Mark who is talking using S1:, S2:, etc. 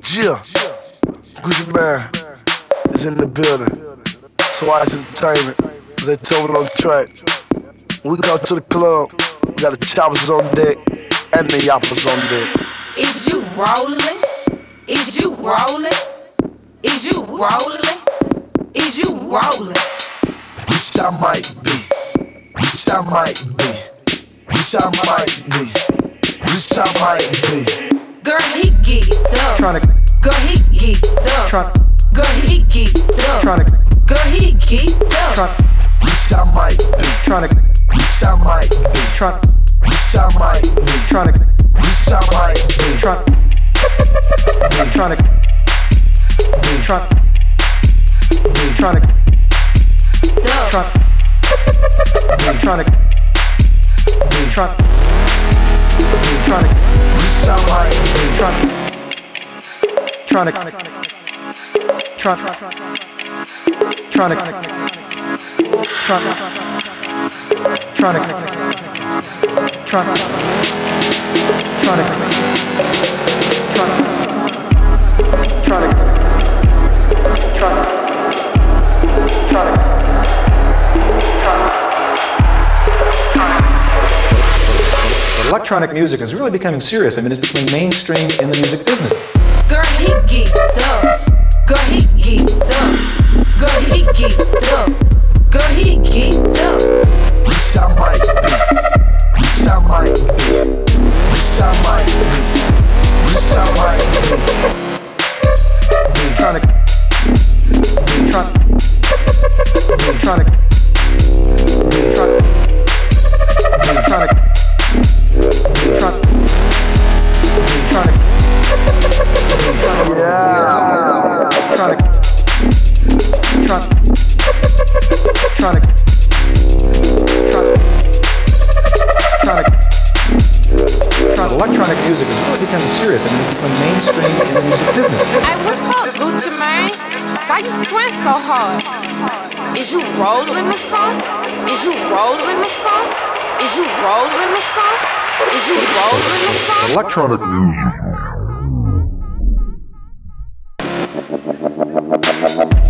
S1: Jill, Gucci Man is in the building. Twice Entertainment, they told it on the track. When we go to the club, we got the choppers on deck and the yappers on deck.
S2: Is you rolling? Is you rolling? Is you rolling? Is you rolling?
S1: Wish I might be. Wish I might be. Wish I might be. Wish I might be.
S2: Girl, he geeked up. Girl, he geeked up. Girl, he geeked up. Girl, he geeked up.
S1: Wish I might be. Wish I might be. Wish I might be. Wish I might be.
S3: Electronic music is really becoming serious. I mean, it's becoming mainstream in the music business.
S2: Girl, he geeked up. Girl, he geeked up. Girl, he geeked up. Girl, he geeked up.
S1: Wish I might be. Wish I might be. Wish I might be. Wish I might be.
S3: Electronic music is really becoming serious. I mean, it's becoming mainstream in the music business.
S4: Hey, what's up, Gucci Mane? Why you squint so hard? Is you rolling the song? Is you rolling the song? Is you rolling the song? Is you rolling the song?
S3: Electronic music.